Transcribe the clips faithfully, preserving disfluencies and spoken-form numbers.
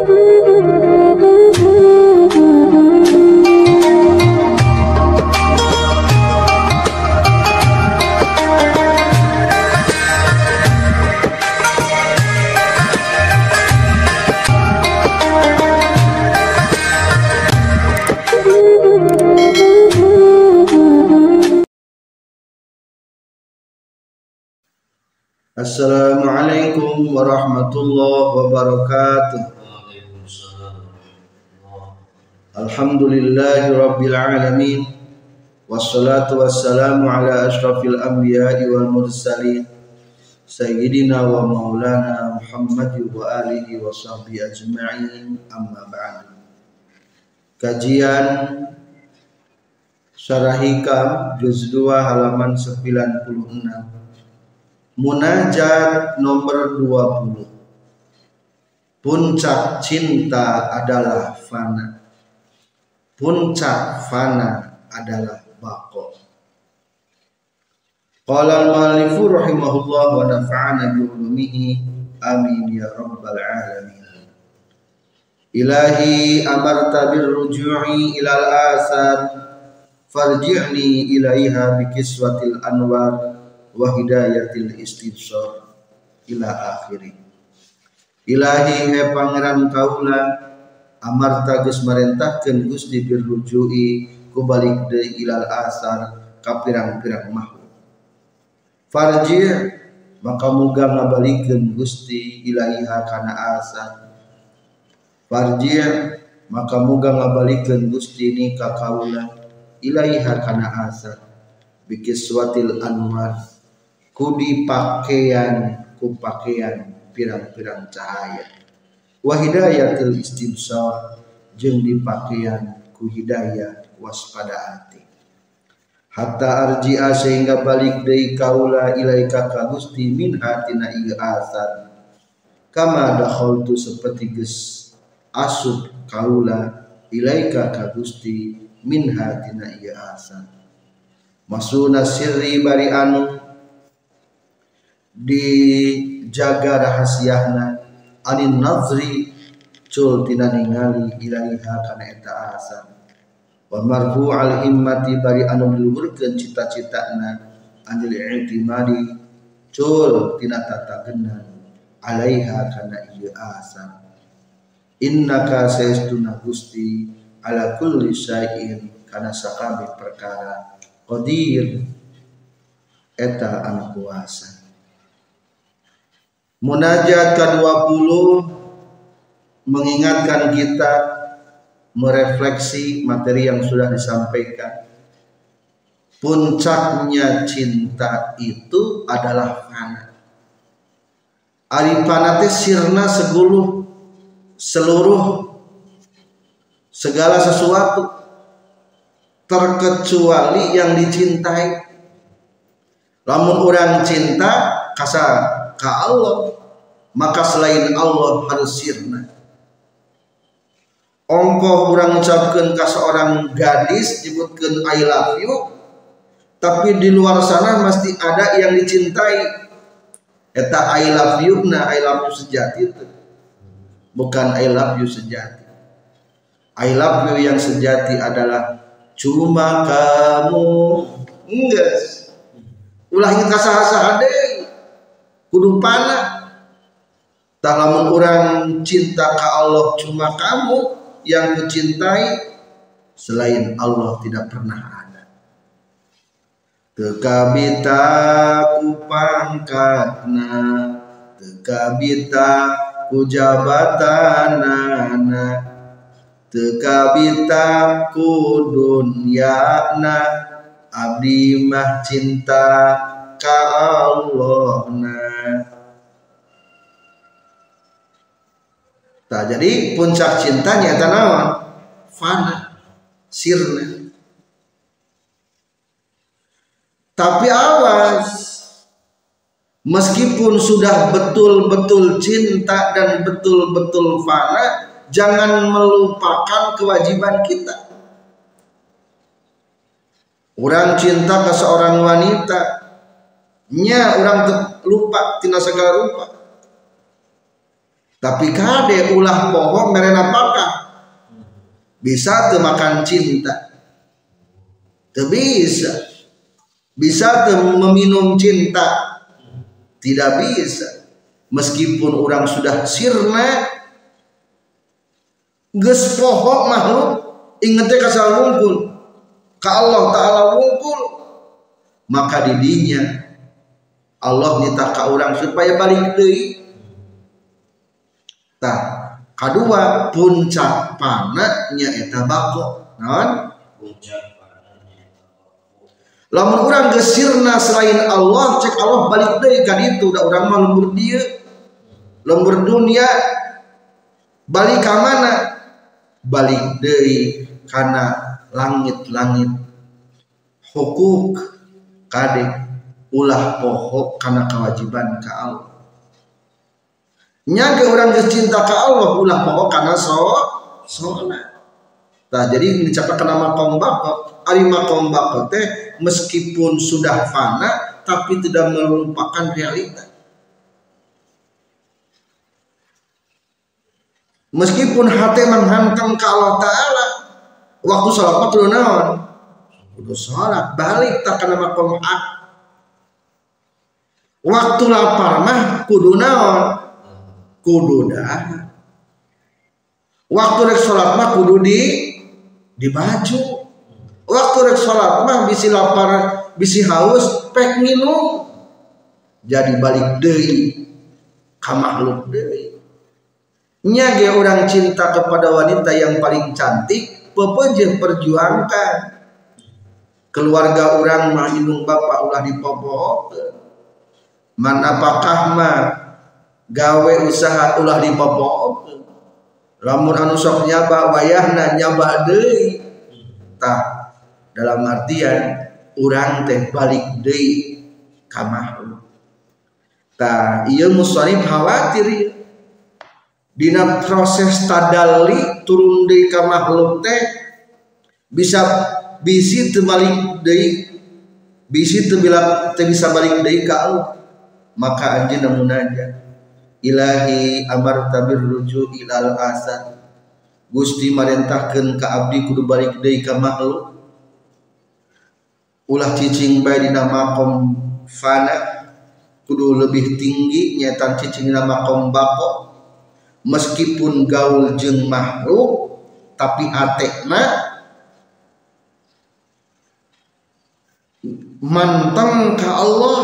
Assalamualaikum warahmatullahi wabarakatuh. Alhamdulillahi rabbil alamin. Wassalatu wassalamu ala ashrafil anbiya'i wal mursalin Sayyidina wa maulana Muhammad wa alihi wa sahbihi ajma'in, amma ba'du. Kajian Syarah Hikam juz dua halaman sembilan puluh enam. Munajat nomor dua puluh. Puncak cinta adalah fana. Puncak fana adalah baqo. Qala al-mu'allifu rahimahullah wa nafa'ana bi ulumihi amin ya rabbal alamin. Ilahi amarta bir ruju'i ilal asar farji'ni ilaiha bi kiswatil anwar wa hidayatil istibsar ila akhiri. Ilahi he pangeran kaula amarta geus marentahkeun Gusti birrujui ku balik deui ilal asar ka pirang-pirang makhluk. Farji maka muga ngabalikeun Gusti ilaiha kana asar. Farji maka muga ngabalikeun Gusti ni ka kaula ilaiha kana asar bikiswatil anwar ku dipakaian ku pakaian pirang-pirang cahaya, wa hidayatul istibsar jeung dipakaian ku hidayah waspada hati, hatta arji'a sehingga balik deui kaula ilaika ka Gusti min hatina ieu asar kama dakhaltu saperti geus asup kaula ilaika ka Gusti min hatina ieu asar. Masuna sirri bari anu dijaga rahasiana anin nazri cul tina ningali ilaiha kana eta asar, wa marfu'al himmati bari anu diluhurkeun cita-citana anil i'timadi cul tina tatageunna alaiha kana ieu asar. Innaka saestuna Gusti ala kulli syai'in kana sakabeh perkara qadir eta anu kuasa. Munajat ke dua puluh mengingatkan kita merefleksi materi yang sudah disampaikan. Puncaknya cinta itu adalah fana. Ari fana teh sirna seguluh seluruh segala sesuatu terkecuali yang dicintai. Lamun orang cinta kasa ka Allah, maka selain Allah harus sirna. Ongkoh orang ucapkan ke seorang gadis nyebutkan I love you, tapi di luar sana mesti ada yang dicintai. Eta I love you na I love you sejati itu, bukan I love you sejati. I love you yang sejati adalah cuma kamu. Enggak, ulah ingin kasah-kasah deh kudu panah. Tah lamun urang cinta ka Allah cuma kamu yang kucintai, selain Allah tidak pernah ada. Teu kabita ku pangkatna, teu kabita ku jabatanana, teu kabita ku dunyana, abdi mah cinta ka Allahna. Nah, jadi puncak cintanya eta naon? Fana, sirna. Tapi awas, meskipun sudah betul-betul cinta dan betul-betul fana, jangan melupakan kewajiban kita. Orang cinta ke seorang wanita, nya orang lupa tina segala rupa. Tapi kade ulah poho mere napakah bisa teu makan cinta, teu bisa bisa teu meminum cinta, tidak bisa. Meskipun orang sudah sirna geus poho makhluk inget teh ka wungkul ka Allah Ta'ala wungkul, maka didinya Allah nyita ka urang supaya balik deui. Tah kadua puncak pana nyaeta bako. Naon? Puncak pana nyaeta bako. Lamun urang geus sirna selain Allah, cek Allah balik deui ka ditu, da urang mah lembur dieu. Lembur dunia balik ka mana? Balik deui kana langit-langit. Hukuk kade ulah poho kana kewajiban ka Allah. Nya ge urang geus cinta ka Allah ulah poho kana so salat. Tah jadi dicatatkeun nama makom bako, ari makom bako teh meskipun sudah fana tapi tidak melupakan realita. Meskipun hati menghantang ke Allah Ta'ala, waktu sholat mah kudu naon? Kudu sholat, balik tak kana makom hak. Waktu lapar mah kudu naon? Kudu dah. Waktu rek sholat mah kudu di di baju. Waktu rek sholat mah bisi lapar, bisi haus, pek minum. Jadi balik deui ka makhluk deui. Nya ge orang cinta kepada wanita yang paling cantik, pepeujeuh perjuangkan. Keluarga orang mah indung bapak ulah dipopokeun. Man apakah mah gawe usaha ulah dipopokeun. Lamun anu sok nyaba wayahna nyaba deui. Tah dalam artian urang teh balik deui ka makhluk. Tah ieu musannif khawatir ieu. Dina proses tadalli turun deui ka makhluk teh bisa bisi teu balik deui, bisi teu bisa balik deui ka Allah. Maka anjeunna munajat, Ilahi amarta birruju ilal asad. Gusti marentahkeun ka abdi kudu balik deui ka makhluk. Ulah cicing bae dina makom fana kudu lebih tinggi nyetan cicing dina makom bako. Meskipun gaul jeung makhluk tapi atekna manteng ka Allah.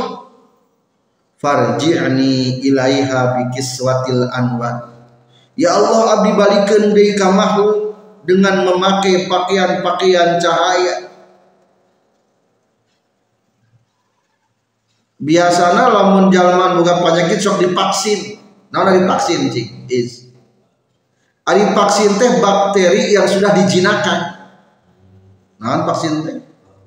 Farji'ni ilaiha bikiswatil anwar. Ya Allah, abdi balikeun deui ka makhluk dengan memakai pakaian-pakaian cahaya. Biasana lamun jalma boga penyakit sok divaksin. Naon ari vaksin cing? Is. Ari vaksin teh bakteri yang sudah dijinakan. Naon vaksin teh?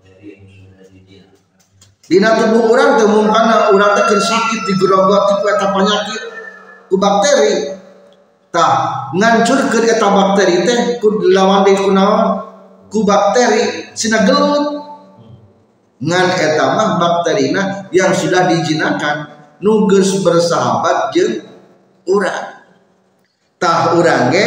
Dina tubuh urang teh mungkana urang teh keur sakit digerogoti ku eta penyakit ku bakteri. Tah, ngancurkeun eta bakteri teh ku lawan deui ku naon? Ku bakteri sina gelut. Ngan eta mah bakterina yang sudah dijinakan nu geus bersahabat jeung urang. Tah urang ge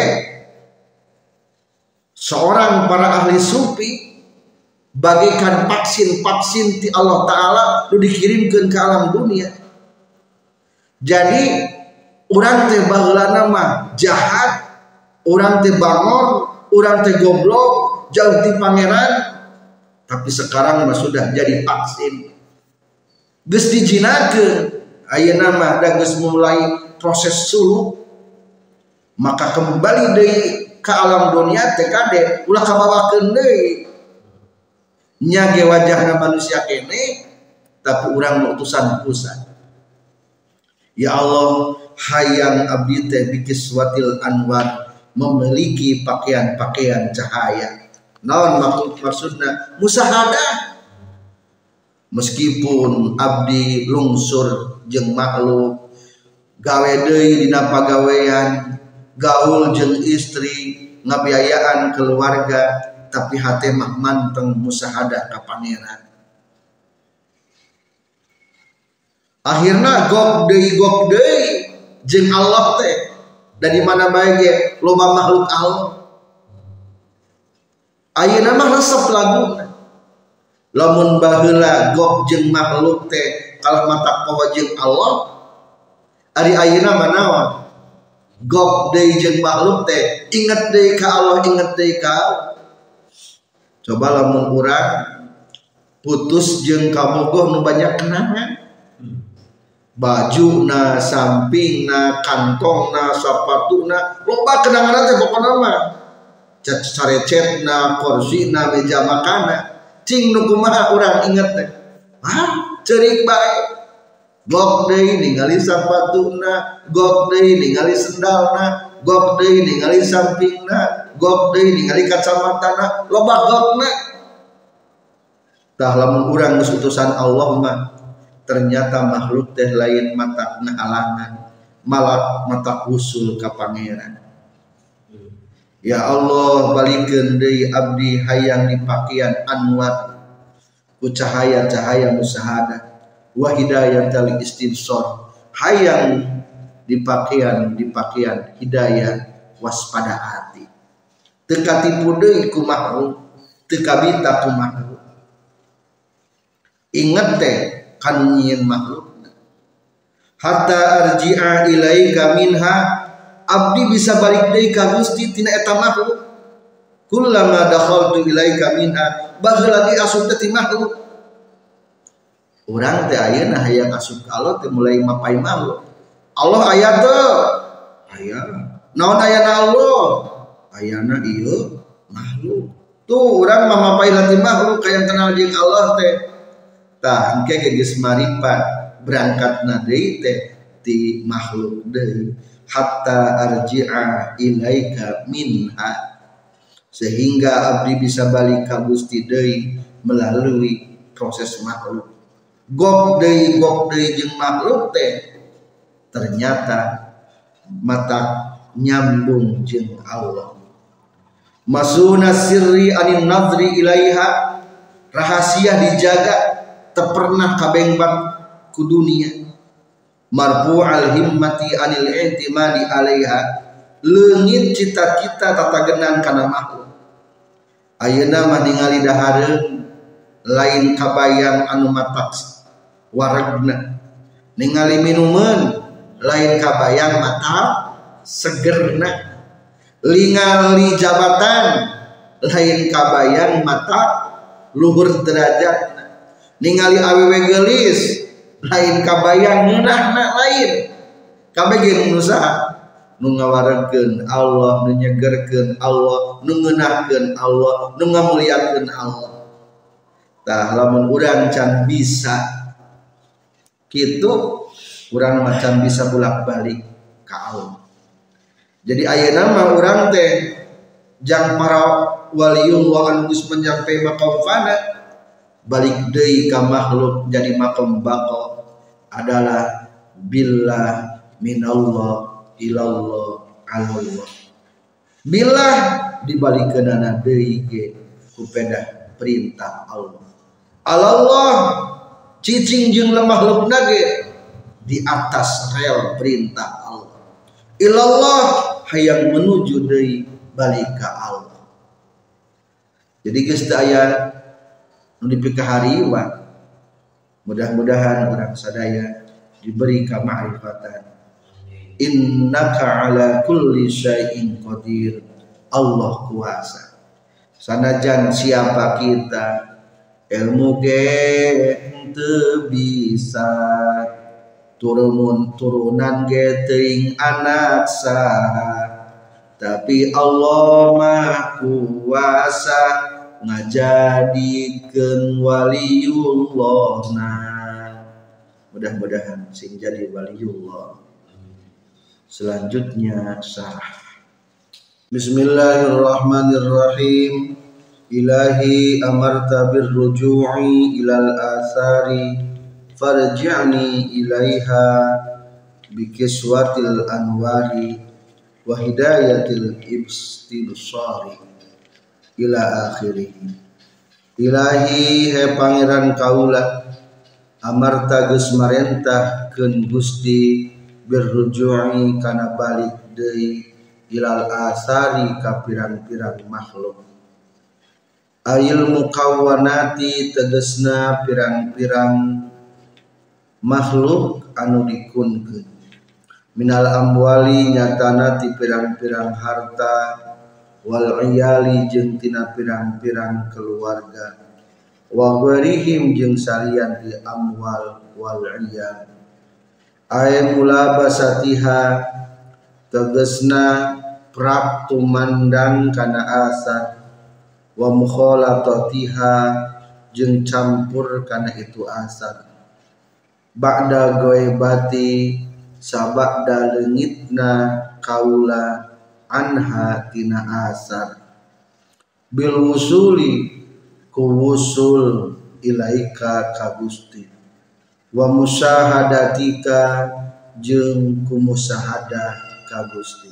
seorang para ahli sufi bagaikan vaksin-vaksin ti Allah Ta'ala nu dikirimkeun ke alam dunia. Jadi urang teh baheulana mah jahat, urang teh bangor, urang teh goblok, jauh ti pangeran. Tapi sekarang mah sudah jadi vaksin. Geus dijinakeun, ayeuna mah da geus mulai proses suluk. Maka kembali deui ka alam dunia teh kade ulah kabawakeun deui. Nya ge wajahna manusia kene tapi urang utusan pusat. Ya Allah, hayang abdi teh bikiswatil anwar, memiliki pakaian-pakaian cahaya. Naon maksud maksudna? Musahadah. Meskipun abdi lungsur jeung makhluk, gawe deui dina pagawean, gaul jeung istri, ngabiayaan keluarga, tapi hati mah manteng musahadah ka pangeran. Akhirna gok deui gok deui jeung Allah teh dari mana baik loba makhluk Allah. Ayeuna mah resep lagu. Lamun baheula gok jeung makhluk teh kalah mata poho jeung Allah, ari ayeuna manaon? Gok deui jeung makhluk teh inget deui ka Allah, inget deui ka Allah. Coba lamun urang putus jeung kabogoh nu banyak kenangan. Bajuna, sampingna, kantongna, sapatuna, loba kenangan teh pokona mah. Carecetna, korsina, meja makana, cing nu kumaha urang inget teh. Hah, ceurik bae. Gok deui ningali sapatuna, gok deui ningali sendalna, gok deui ningali sampingna, gok deui ningali kacamatana, loba gokna. Tah lamun urang geus utusan Allah mah ternyata makhluk teh lain mata halangan, malah mata usul ka pangeran. Ya Allah, balikeun deui abdi hayang dipakaian anwar ku cahaya-cahaya musahadah wa hidayatal istibsar, hayang dipakaian dipakaian hidayah waspada hati. Teu katipu deui ku makhluk, teu kabita ku makhluk. Ingat teh kan nyieun makhluk. Hatta arji'a ilaika minha, abdi bisa balik deui ka Gusti tina eta makhluk. Kullama dakhaltu ilaika minha, baheula di asup teh ti makhluk. Urang teh ayeuna hayang asup ka Allah teh mulai mapai makhluk. Allah aya teu? Aya. Naon ayana Allah? Ayana ieu makhluk. Tuh urang mah mapai lati makhluk kayang kenal jeung Allah teh. Tah engke geus maripat berangkatna deui teh ti makhluk deui. Hatta arji'a ilaika minha, sehingga abdi bisa balik ka Gusti deui melalui proses makhluk. Gok deui gok deui jeung makhluk teh ternyata mata nyambung jeung Allah. Masuna sirri anin nadri ilaiha, rahasia dijaga teu pernah kabengbat ku dunia. Marfu'al himmati anil i'timadi alaiha, leungit cita-cita tatagenan kana makhluk. Ayeuna mah ningali dahareun lain kabayang anu matak waregna, ningali minuman lain kabayang mata segerna, ningali jabatan lain kabayang mata luhur derajatna, ningali awewe geulis lain kabayang ngeunahna lain. Kabeh ge nu saha? Nu ngawaregkeun Allah, nu nyegerkeun Allah, nu ngeunahkeun Allah, nu ngamuliakeun Allah. Tah lamun urang can bisa kitu, urang macan bisa bolak-balik ka Allah. Jadi ayeuna mah urang teh jang para waliullah anu geus menyampai maqam fana balik deui ka makhluk jadi maqam baqa adalah billah minallah ilallah alallah. Billah dibalikeunana deui ge ku pedah perintah Allah. Alallah cicing jeung makhlukna ge di atas rel perintah Allah. Ilallah hayang menuju deui balik ka Allah. Jadi geus teu aya nu dipikahariwan. Mudah-mudahan orang sadaya diberi kema'rifatan. Innaka ala kulli syai'in qadir. Allah kuasa. Sanajan siapa kita ilmu ge teu bisa, turun turunan ge teuing anak saha, tapi Allah mah kuasa ngajadikeun waliullahna. Mudah-mudahan sing jadi waliullah. Selanjutnya syarah. Bismillahirrahmanirrahim. Ilahi amarta birruju'i ilal athari farji'ni ilaiha bikiswatil anwari wa hidayatil ibstibsari ila akhirih. Ilahi he pangeran kaula, amarta geus marentahkeun Gusti birruju'i kana balik deui ilal asari ka pirang-pirang makhluk. Ayil mukawwanati tegesna pirang-pirang makhluk anu dikunkeun. Minal amwali nyatana ti pirang-pirang harta wal iyali jeung tina pirang-pirang keluarga wa ghairihim jeung salian ti amwal wal iyal. Ay mulabasatiha tegesna prap tumandang kana asar wa mukhalatatiha jeung campur kana itu asar ba'da ghaibati sabada leungitna kaula anha tina asar bil wusuli ku wusul ilaika ka Gusti wa musyahadatika jeung ku musyahadah ka Gusti.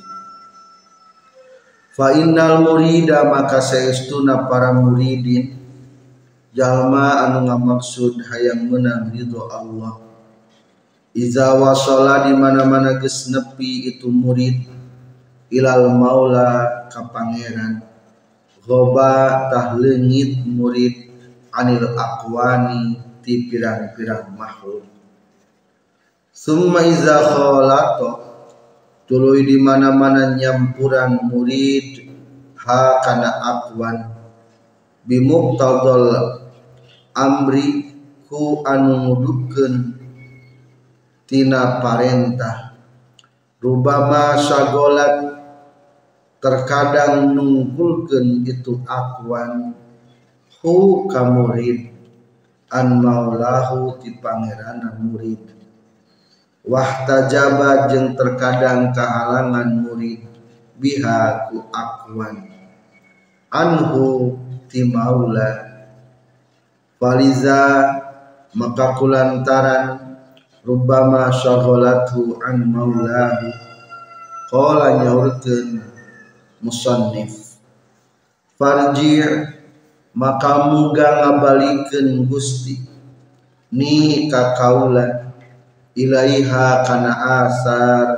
Fa innal murida maka saestuna para muridin jalma anu ngamaksud hayang meunang ridho Allah. Iza wasala di mana-mana geus nepi itu murid ilal maula ka pangeran ghoba tah leungit murid anil aqwani ti pirang-pirang makhluk. Summa iza khalato tuluy di mana-mana nyampuran murid ha kana aqwan bimuqtadal amri ku anu ngudukeun tina parentah rubama sagolat terkadang nungkulkeun itu aqwan hu ka murid an maulahu ti pangeranna murid wahtajaba jeung terkadang kahalangan murid biha ku aqwan anhu ti maula faliza maka kulantaran rubbama syaghalatu an maulahu qala nyaurkeun musannif farji' maka muga ngabalikeun Gusti ni ka kaula ilaiha kana asar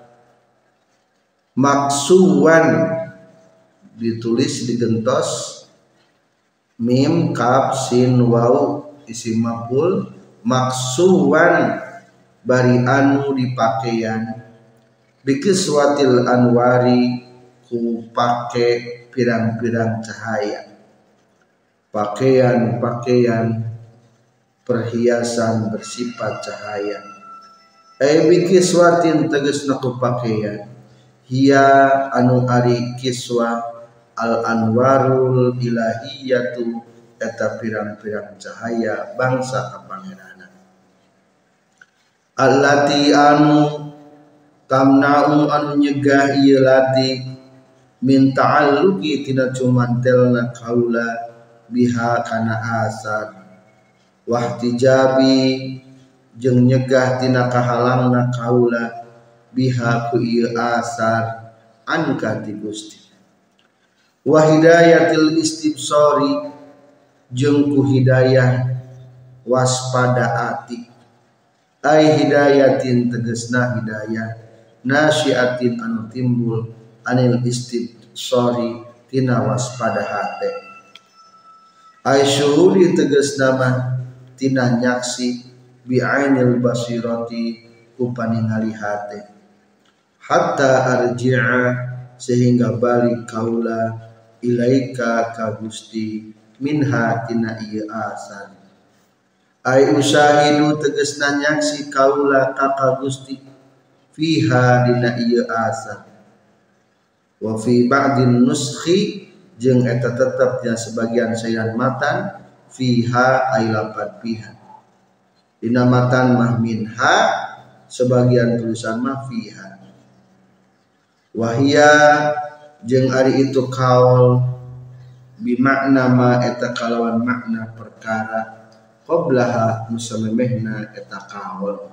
maksuwan ditulis digentos mim kaf sin waw isim maf'ul maksuwan bari anu dipakaian bikiswatil anwari ku pake pirang-pirang cahaya pakaian-pakaian perhiasan bersifat cahaya. Ai bikiswatin tegasna ku pakaian hiya anu ari kiswa al anwarul ilahiyatu eta pirang-pirang cahaya bangsa kapangeranna allati anu tamna'u anu nyegah ieu lati min ta'alluqi tina cumantelna kaula biha kana asar wahtijabi jeung nyegah tina kahalangna kaula biha ku ieu asar anka ti Gusti wa hidayatil istibsari jeung ku hidayah waspada ati ai hidayatin tegasna hidayah nasyiatin anu timbul anil istibsari tina waspada hate ai syuhudi tegasna mah tina nyaksi bi'ainil basirati ku paningali hate hatta arji'a sehingga balik kaula ilaika ka Gusti minha tina ieu asar ai usyahidu tegasna nyaksi kaula ka ka Gusti fiha dina ieu asar wa fi ba'din nuskhi jeung eta tetep nya sebagian sayan matan fiha ai lapat fiha dina matan mah minha sebagian tulisan mah fiha wahia jeung ari itu kaul bimakna ma eta kalawan makna perkara qablaha musamemehna eta kaul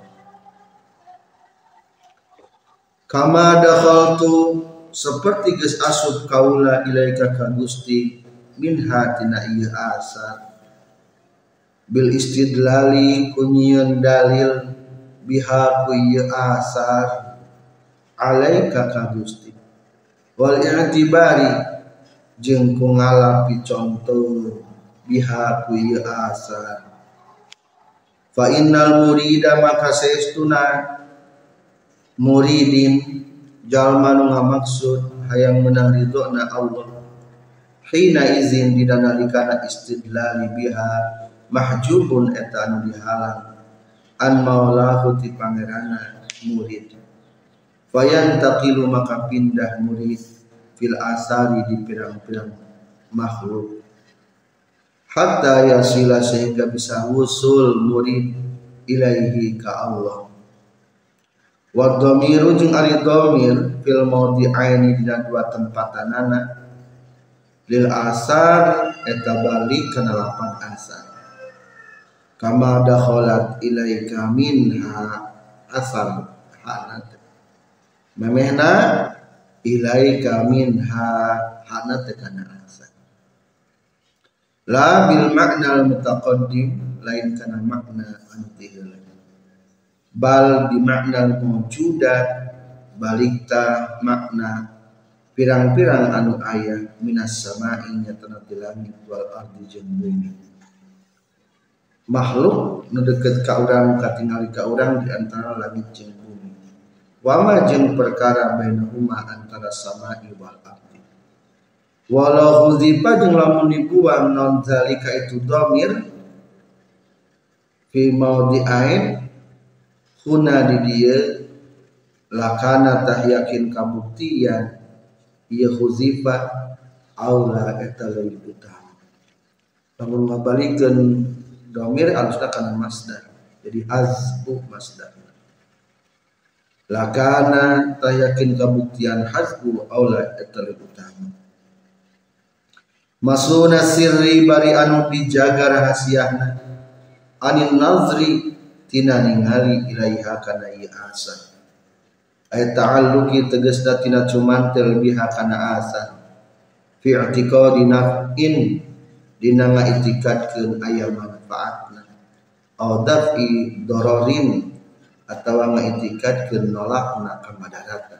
kama dakhaltu seperti geus asup kaula ilaika ka Gusti minha tina ieu asar bil istidlali kunyian dalil biha ku ieu asar alaika ka Gusti wal i'tibari jeung ku ngalapi contoh biha ku ieu asar. Fa innal murida maka saestuna muridin jalma nu ngamaksud hayang menang ridona Allah hina izin dina nalikana istidlali biha mahjubun eta anu dihalang an maulahu ti pangerana murid. Fayantaqilu maka pindah murid fil asari di pirang-pirang makhluk hatta yasila sehingga bisa wusul murid ilaihi ka Allah. Wa dhamiru jeung ari dhamir fil mawdi'aini dina dua tempatanana lil asar eta balik kana lapan asar kama dakhalat ilaika minha asar hanat memehna ilaika minha hanat kana asar la bil makna al mutaqaddim lain kana makna anu tiheula bal bi makna al mawjudat balikta makna pirang-pirang anu aya minas sama'i nyatana di langit wal ardi jeung bumi. Makhluk nu deukeut ka urang katingali ka urang di antara langit jeung bumi. Wa ma jeung perkara bainahuma antara sama'i wal ardi. Walau hudzifa jeung lamun dibuang non zalika itu dhamir fi maudhi'ain huna di dieu lakana tah yakin kabuktian ieu huzifa aula eta leuwih utama. Lamun ngabalikeun dhamir alusna kana masdar. Jadi hazbu masdar. Lakana tah yakin kabuktian hazbu aula eta leuwih utama. Masuna sirri bari anu dijaga rahasiana anin nazri tina ningali ilaiha kana ieu asa. Ay ta'alluqi tegasna tina cumantel biha kana asa fi i'tiqadi naf'in dina ngaitikadkeun aya manfaatna aw daf'i dararin atawa ngaitikadkeun nolakna kamadaratan.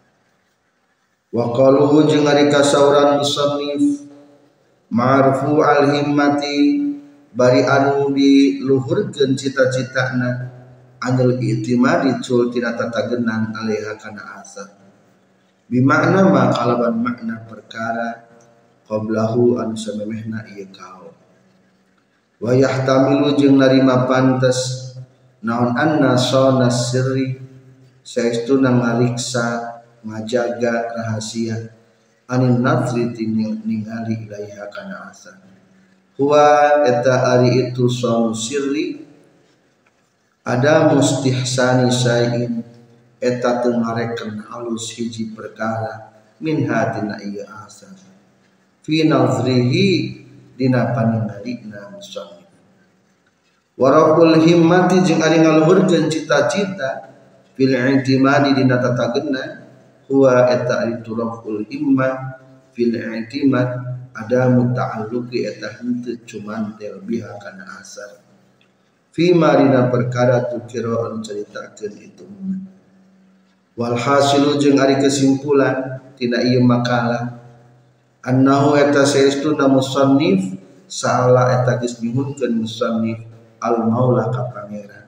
Wa qaluhu jeung ari kasauran musannif ma'rufu al himmati bari anu diluhurkeun cita-citana anil i'timadi cul tina tatagenan alaiha kana asar bimakna ma kalaban makna perkara qablahu anu samemehna ieu kaul wa yahtamilu jeung narima pantes naon anna shana sirri saestuna ngariksa ngajaga rahasia anin nafri ningali ilaiha kana asar huwa eta ari itu shana sirri ada mustihsani syai'in eta teu ngarekeun halus hiji perkara min hatina ieu asar fi nazrihi dina paningalina musannif waraqul himmati jeung ari ngaluhurkeun cita-cita fil i'timadi dina tatageuna huwa eta ari turaful himmah fil i'timad ada muta'alluqi eta henteu cumantel biha kana asar fima dina perkara tukiro anu caritakeun itu wal hasilu jeung ari kesimpulan tina ieu makalah annahu eta saestuna musannif saala eta geus nyuhunkeun musannif al maula ka pangeran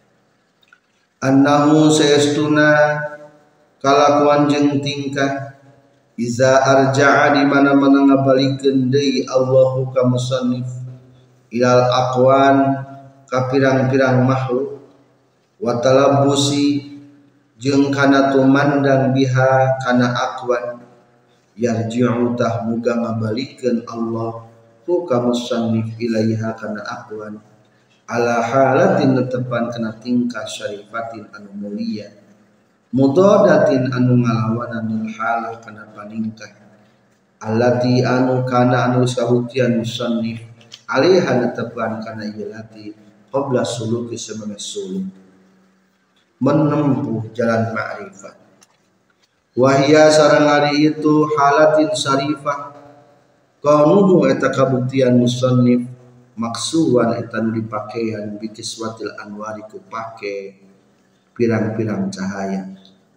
annahu saestuna kalakuan jeung tingkah iza arja'a di mana-mana ngabalikeun deui Allahu ka musannif ilal aqwan ka pirang-pirang makhluk wa talabbusi jeung kana tumandang biha kana aqwan yarji'u tah muga ngabalikeun Allah ku ka musannif ilaiha kana aqwan ala halatin netepan kana tingkah syarifatin anu mulia mudadatin anu ngalawanan halah kana paningkah allati anu kana anu sahutian musannif alaiha netepan kana ieu lati qabla suluki semana suluk menempuh jalan ma'rifat wahia sareng ari itu halatin syarifah kaunuhu eta kabuktian musannif maksuwan eta nu dipakaian bikiswatil anwari ku pake pirang-pirang cahaya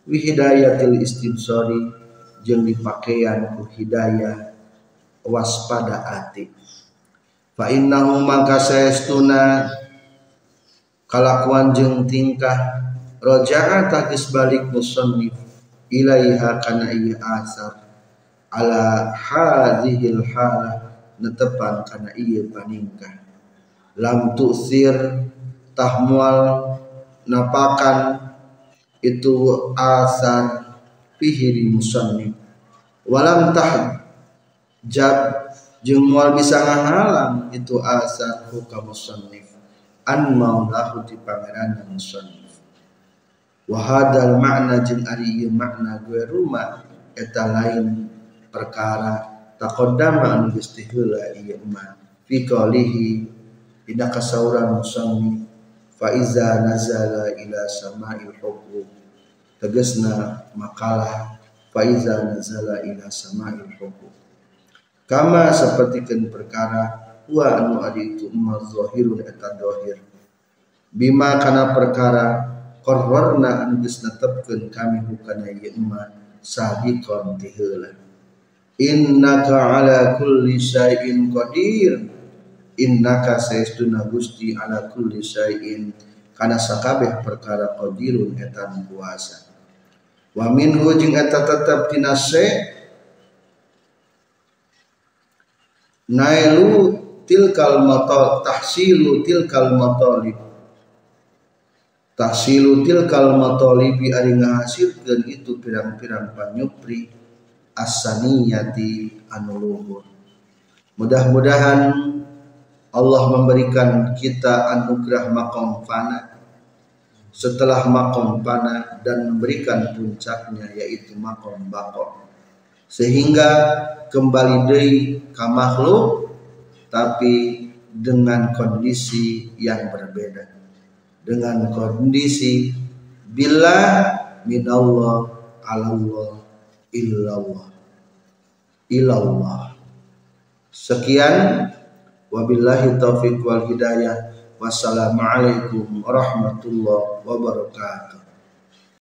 wi hidayatil istibsari jeung dipakaian ku hidayah waspada ati. Fa innahu maka saestuna kalakuan jeung tingkah roja'a tagis balik musannif ilaiha kana ieu asar ala hadhil halah netepan kana ieu paningkah lam tu'sir tahmual napakan itu asar fihi musannif walam tahjab jeung moal bisa ngahalang itu asar hukam musannif an maulahu di pangeran musannif wa hadal makna jeung ari ieu makna gue rumah eta lain perkara taqaddama anu geus heula ieu mah fi qalihi ina kasauran musannif fa iza nazala ila sama'il huquq tegasna makalah fa iza nazala ila sama'il huquq kama sapertikeun perkara wa anu adi itu emma zahirun eta zahir bima kana perkara qarrarna anu geus netepkeun kami hukana ieu emma sabiqon ti heula innaka ala kulli syai'in qadir innaka saestuna Gusti ala kulli syai'in kana sakabeh perkara qadirun eta kuasa wa minhu jeung eta tetep tina se nailu tilkal matal tahsilu tilkal matalib tahsilu tilkal matalibi ari ngahasilkeun itu pirang-pirang panyupri as-saniyati anu luhur. Mudah-mudahan Allah memberikan kita anugerah maqam fana setelah maqam fana dan memberikan puncaknya yaitu maqam baqa sehingga kembali deui ka makhluk tapi dengan kondisi yang berbeda, dengan kondisi billah minallah alallah illallah ilallah. Sekian, wabillahi taufiq wal hidayah. Wassalamualaikum warahmatullahi wabarakatuh.